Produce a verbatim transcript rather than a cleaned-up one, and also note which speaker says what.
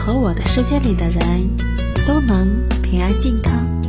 Speaker 1: 和我的世界里的人都能平安健康。